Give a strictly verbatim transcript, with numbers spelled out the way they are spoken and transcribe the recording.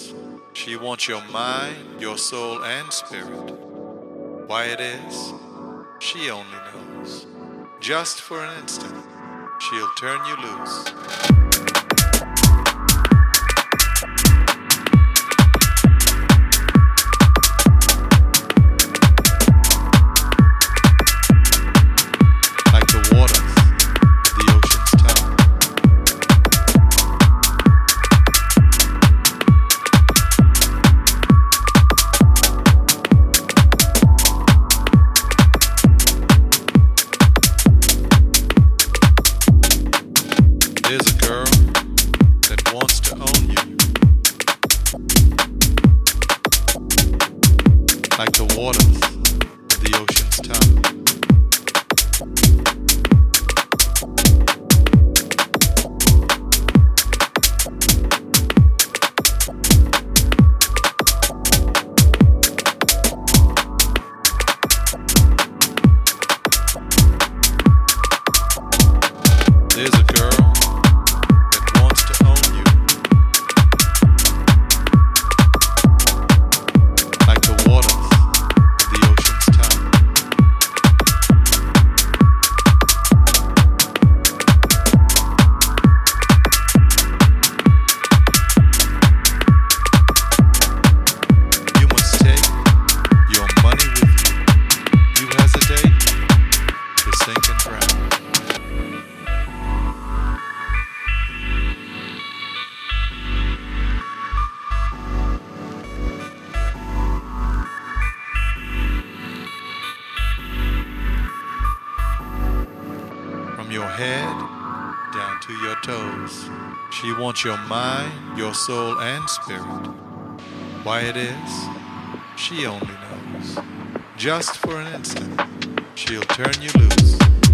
knows. She wants your mind, your soul, and spirit. Why it is, she only knows. Just for an instant, she'll turn you loose. There's a girl that wants to own you, like the waters of the ocean's tongue. There's a girl from your head down to your toes. She wants your mind, your soul, and spirit. Why it is, she only knows. Just for an instant, she'll turn you loose.